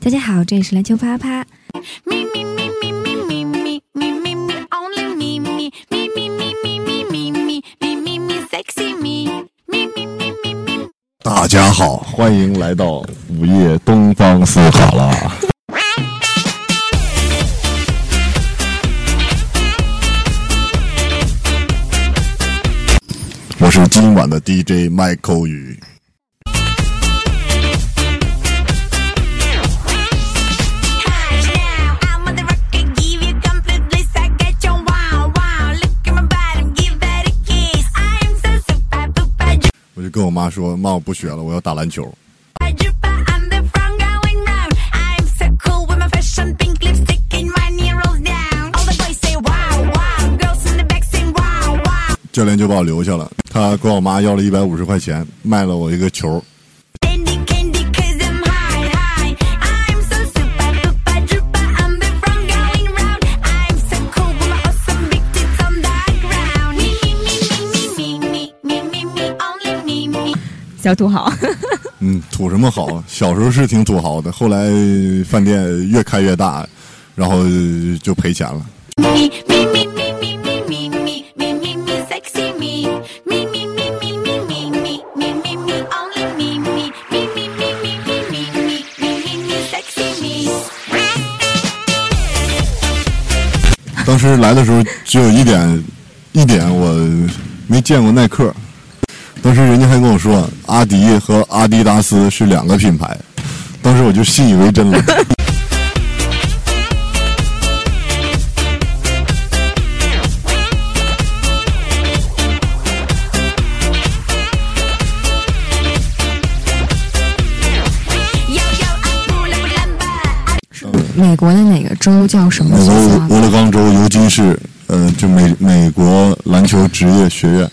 大家好，这里是篮球啪啪。 大家好，欢迎来到午夜东方斯卡拉。我是今晚的 DJ 麦扣宇。我就跟我妈说，妈，我不学了，我要打篮球。教练就把我留下了，他管我妈要了150块钱，卖了我一个球。 小土豪。 土什么豪？小时候是挺土豪的，后来饭店越开越大，然后就赔钱了。当时来的时候只有一点我没见过耐克。当时人家还跟我说阿迪和阿迪达斯是两个品牌，当时我就信以为真了。 美国的哪个州叫什么学校？ 美国俄勒冈州尤金市，就美国篮球职业学院。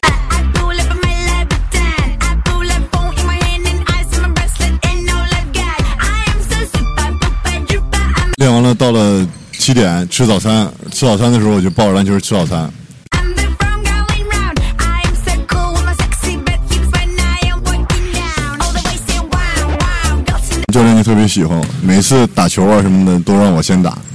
练完了，到了7点吃早餐。吃早餐的时候，我就抱着篮球吃早餐。教练就特别喜欢我，每次打球啊什么的都让我先打。